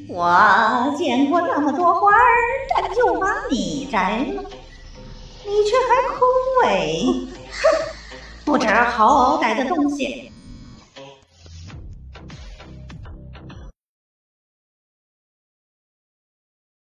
我见过那么多花儿，但就把你摘了，你却还枯萎。哼，不知好歹的东西！